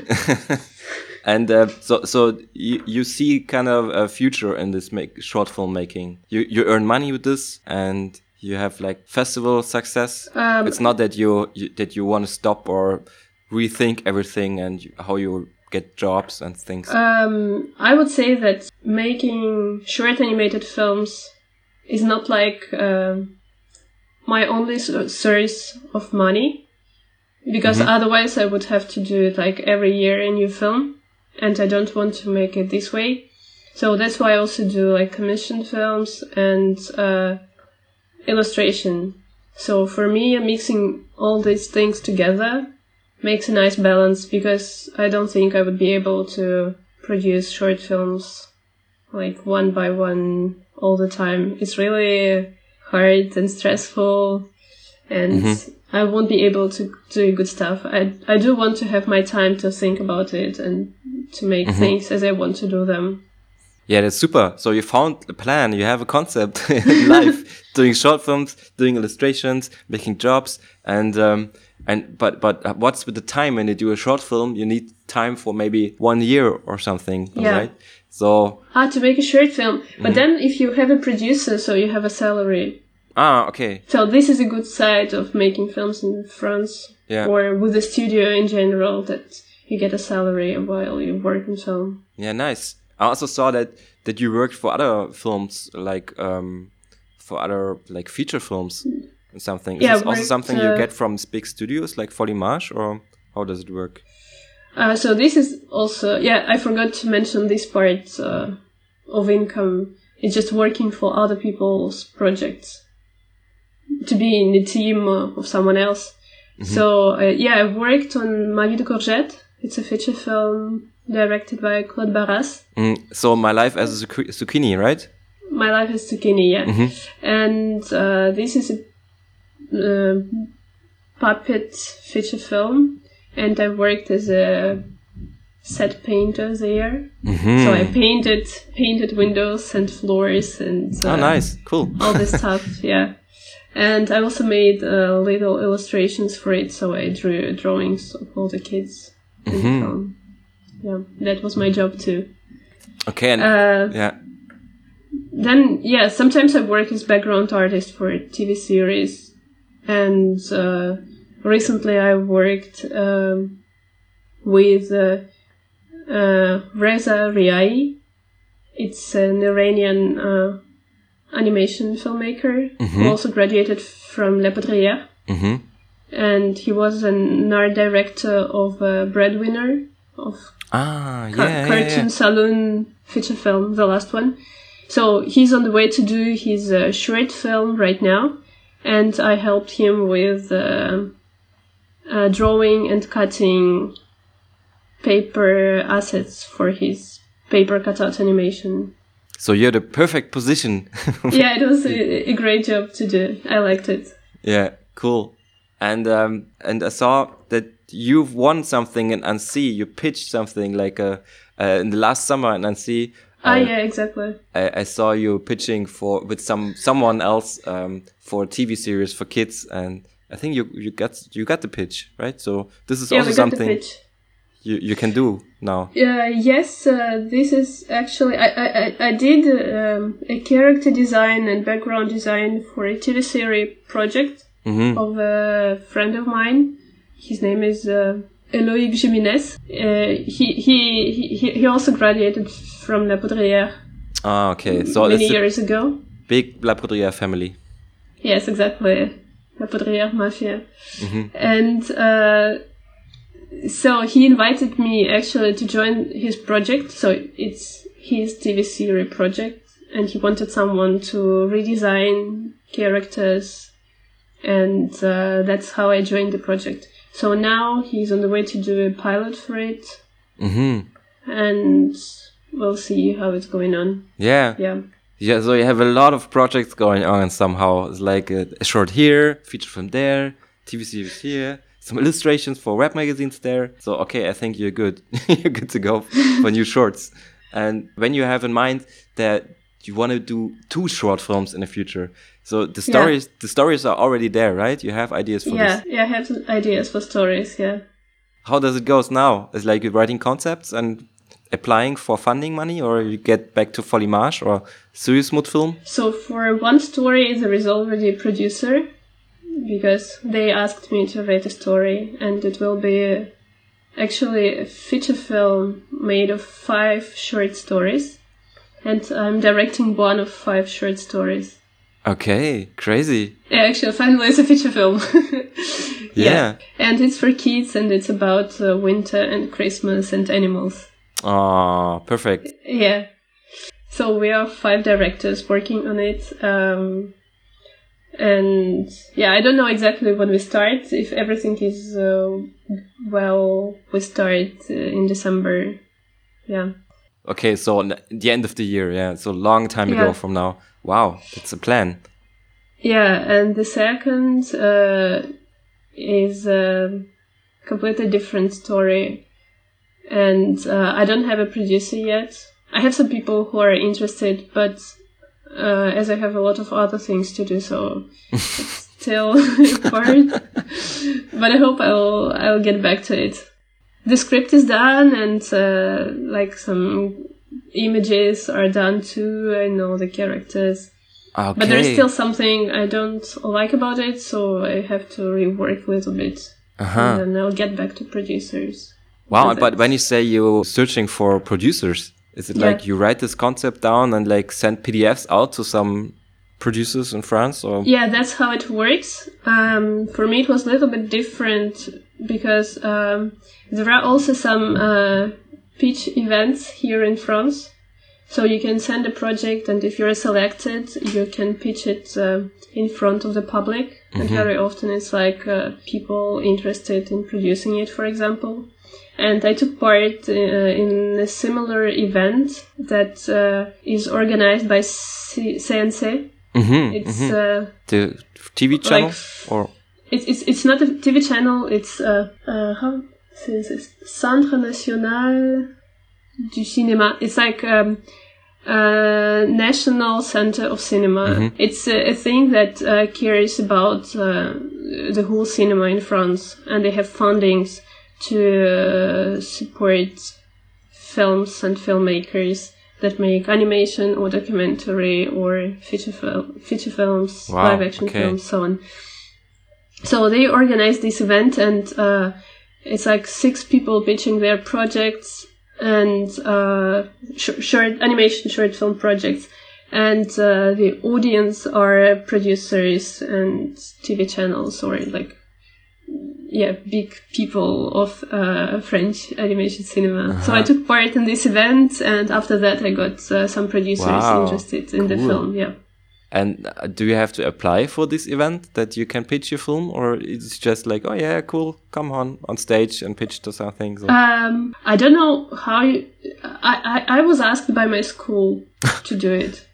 and uh, so so you, you see kind of a future in this make short film making. You you earn money with this and you have like festival success. Um, It's not that you, you that you want to stop or rethink everything and you, how you get jobs and things. Um, I would say that making short animated films is not like um my only s- source of money, because Mhm. otherwise I would have to do it like every year a new film, and I don't want to make it this way. So that's why I also do like commissioned films and uh, illustration. So for me, mixing all these things together makes a nice balance, because I don't think I would be able to produce short films like one by one all the time. It's really hard and stressful, and Mhm. I won't be able to do good stuff. I I do want to have my time to think about it and to make Mhm. things as I want to do them. Yeah, that's super. So you found a plan, you have a concept in life, doing short films, doing illustrations, making jobs, and um, and but but uh, what's with the time when you do a short film? You need time for maybe one year or something, Yeah. right? So Ah, to make a short film. Mm-hmm. But then if you have a producer, so you have a salary. ah okay, So this is a good side of making films in France, yeah, or with the studio in general, that you get a salary while you work in film. yeah, nice. I also saw that that you worked for other films, like um, for other like feature films. and something. Is Yeah, this also worked, something you uh, get from big studios like Foliage, or how does it work? Uh, so this is also, yeah, I forgot to mention this part uh, of income. It's just working for other people's projects, to be in the team uh, of someone else. Mm-hmm. So, uh, yeah, I worked on Ma vie de Courgette. It's a feature film directed by Claude Barras. Mm, so My Life as a Zucchini, right? My Life as Zucchini, yeah. Mm-hmm. And uh, this is a uh, puppet feature film. And I worked as a set painter there. Mm-hmm. So I painted painted windows and floors and uh, oh, nice, cool, all this stuff. Yeah, and I also made uh, little illustrations for it. So I drew drawings of all the kids in mm-hmm. the film. Yeah, that was my job too. Okay, and uh, yeah. Then yeah, sometimes I work as background artist for T V series, and. Uh, Recently, I worked um, with uh, uh, Reza Riai. It's an Iranian uh, animation filmmaker mm-hmm. who also graduated from La Poudrière. Mm-hmm. And he was an art director of uh, Breadwinner, of ah, yeah, Car- yeah, Cartoon yeah. Saloon feature film, the last one. So he's on the way to do his uh, short film right now. And I helped him with... Uh, Uh, drawing and cutting paper assets for his paper cutout animation. So you're the perfect position. Yeah, it was a, a great job to do. I liked it. Yeah, cool. And um, and I saw that you've won something in Annecy. You pitched something like uh, uh, in the last summer in Annecy. Ah, uh, yeah, exactly. I, I saw you pitching for with some someone else um, for a T V series for kids, and I think you you got you got the pitch, right? So this is yeah, also we got something the pitch. you you can do now. Uh, yes, uh, this is actually I I I did um, a character design and background design for a T V series project mm-hmm. of a friend of mine. His name is uh, Eloïc Jiménez. Uh, he he he he also graduated from La Poudrière. Ah, okay. So many years ago. Big La Poudrière family. Yes, exactly. La Poudrière Mafia. Mm-hmm. And uh, so he invited me actually to join his project. So it's his T V series project. And he wanted someone to redesign characters. And uh, that's how I joined the project. So now he's on the way to do a pilot for it. Mm-hmm. And we'll see how it's going on. Yeah. Yeah. Yeah, so you have a lot of projects going on somehow. It's like a, a short here, feature film there, T V series here, some illustrations for web magazines there. So, okay, I think you're good. You're good to go for new shorts. And when you have in mind that you want to do two short films in the future, so the stories, yeah. the stories are already there, right? You have ideas for yeah, this. Yeah, I have ideas for stories, yeah. How does it go now? It's like you're writing concepts and applying for funding money, or you get back to Foliage or Suismut Film? So for one story, there is already a producer, because they asked me to write a story, and it will be a, actually a feature film made of five short stories, and I'm directing one of five short stories. Okay, crazy. Yeah, actually, finally it's a feature film. yeah. yeah. And it's for kids, and it's about uh, winter and Christmas and animals. Oh, perfect. Yeah. So we are five directors working on it. Um, and yeah, I don't know exactly when we start. If everything is uh, well, we start uh, in December. Yeah. Okay, so the end of the year, yeah. So long time yeah. ago from now. Wow, that's a plan. Yeah, and the second uh, is a completely different story. And uh, I don't have a producer yet. I have some people who are interested, but uh, as I have a lot of other things to do, so it's still hard. But I hope I'll I'll get back to it. The script is done, and uh, like some images are done too. I know the characters. Okay. But there's still something I don't like about it, so I have to rework a little bit. Uh-huh. And then I'll get back to producers. Wow, but when you say you're searching for producers, is it yeah. like you write this concept down and like send P D Fs out to some producers in France? Or yeah, that's how it works. Um, for me, it was a little bit different because um, there are also some uh, pitch events here in France. So you can send a project, and if you're selected, you can pitch it uh, in front of the public. Mm-hmm. And very often it's like uh, people interested in producing it, for example. And I took part uh, in a similar event that uh, is organized by C- CNC. Mm-hmm, it's mm-hmm. Uh, the T V channel, like, or it's it's it's not a T V channel. It's uh, uh how is this? Centre National du Cinéma. It's like um, uh National Center of Cinema. Mm-hmm. It's a, a thing that uh, cares about uh, the whole cinema in France, and they have fundings to uh, support films and filmmakers that make animation or documentary or feature, fil- feature films, wow, live action okay. films, so on. So they organized this event, and uh, it's like six people pitching their projects and uh, sh- short animation short film projects. And uh, the audience are producers and T V channels or like yeah, big people of uh, French animation cinema. Uh-huh. So I took part in this event, and after that I got uh, some producers wow. interested in cool. the film, yeah. And uh, do you have to apply for this event that you can pitch your film, or it's just like, oh yeah, cool, come on on stage and pitch to something? So. Um, I don't know how you... I, I, I was asked by my school to do it.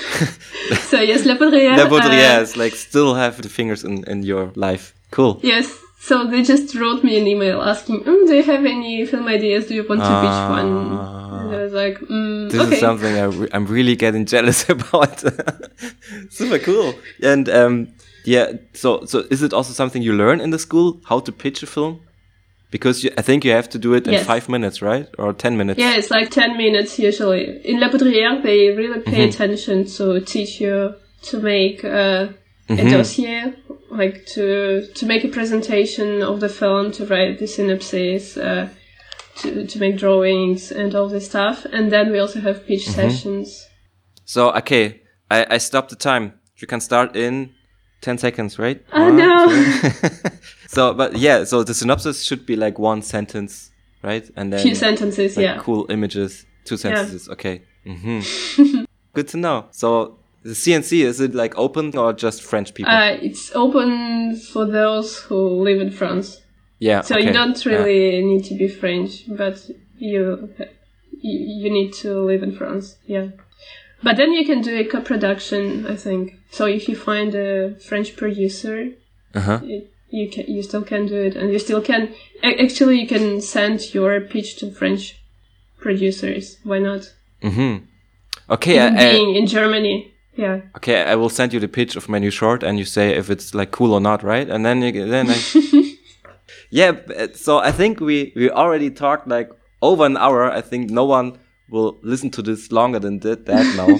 So yes, La Poudrière... La Poudrière uh, is like still have the fingers in, in your life. Cool. Yes. So they just wrote me an email asking, mm, do you have any film ideas? Do you want to uh, pitch one? And I was like, mm, this okay. is something I re- I'm really getting jealous about. Super cool. And um, yeah, so so is it also something you learn in the school, how to pitch a film? Because you, I think you have to do it in yes. five minutes, right? Or ten minutes? Yeah, it's like ten minutes usually. In La Poudrière, they really pay mm-hmm. attention to teach you to make uh, mm-hmm. a dossier. Like to to make a presentation of the film, to write the synopsis, uh, to to make drawings and all this stuff, and then we also have pitch mm-hmm. sessions. So okay, I, I stopped the time. You can start in ten seconds, right? Oh uh, no! So, but yeah, so the synopsis should be like one sentence, right? And then few sentences, like yeah. Cool images, two sentences. Yeah. Okay. Mm-hmm. Good to know. So. The C N C, is it like open or just French people? Uh, it's open for those who live in France. Yeah. So okay. you don't really yeah. need to be French, but you you need to live in France. Yeah. But then you can do a co-production, I think. So if you find a French producer, uh-huh. it, you can you still can do it, and you still can actually you can send your pitch to French producers. Why not? Mm-hmm. Okay. Even I, being I, in Germany. Yeah. Okay, I will send you the pitch of my new short, and you say if it's like cool or not, right? And then you then I. Yeah. So I think we we already talked like over an hour. I think no one will listen to this longer than did that now.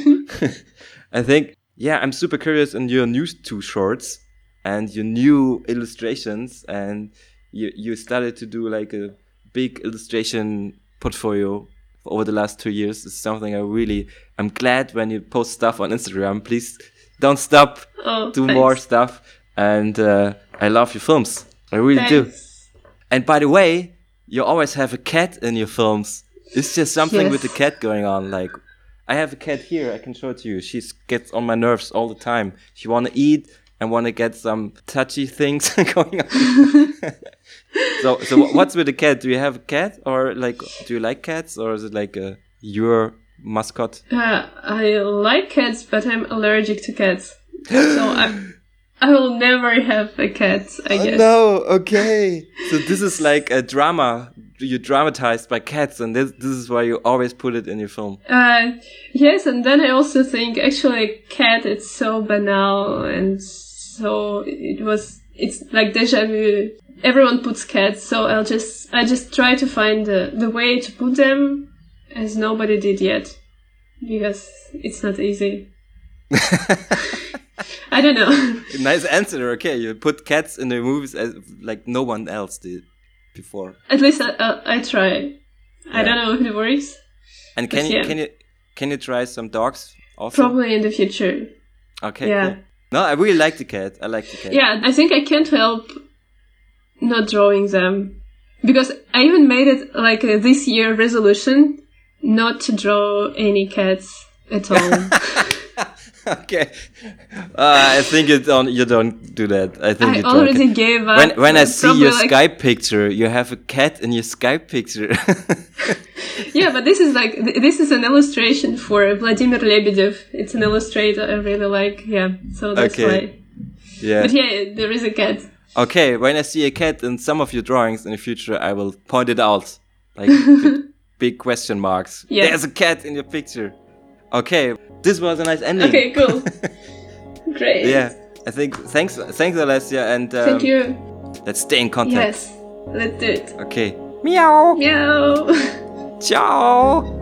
I think yeah, I'm super curious in your new two shorts and your new illustrations, and you you started to do like a big illustration portfolio over the last two years. Is something I really, I'm glad when you post stuff on Instagram. Please don't stop, oh, do thanks. more stuff. And uh, I love your films. I really thanks. do. And by the way, you always have a cat in your films. It's just something yes. with the cat going on. Like, I have a cat here. I can show it to you. She gets on my nerves all the time. She want to eat and want to get some touchy things going on. So, so what's with the cat? Do you have a cat, or like, do you like cats, or is it like a your mascot? Uh, I like cats, but I'm allergic to cats, so I, I will never have a cat. I oh, guess. No, okay. So this is like a drama. You're dramatized by cats, and this this is why you always put it in your film. Uh, yes, and then I also think actually, cat it's so banal, and so it was. It's like déjà vu. Everyone puts cats, so I'll just I just try to find the, the way to put them as nobody did yet, because it's not easy. I don't know. Nice answer. Okay, you put cats in the movies as like no one else did before. At least I I, I try. Yeah. I don't know if it works. And can you yeah. can you can you try some dogs also? Probably in the future. Okay. Yeah. Cool. No, I really like the cat. I like the cat. Yeah, I think I can't help not drawing them. Because I even made it like a this year resolution not to draw any cats at all. Okay. Uh, I think you don't, you don't do that. I think I you draw already a cat. gave up. When, when I see your like, Skype picture, you have a cat in your Skype picture. Yeah, but this is like, th- this is an illustration for Vladimir Lebedev. It's an illustrator I really like. Yeah, so that's Okay. why. Yeah. But yeah, there is a cat. Okay, when I see a cat in some of your drawings in the future, I will point it out. Like big, big question marks. Yeah. There's a cat in your picture. Okay, this was a nice ending. Okay, cool. Great. Yeah, I think, thanks, thanks Alessia, and um, Thank you. let's stay in contact. Yes, let's do it. Okay. Meow. Meow. Ciao.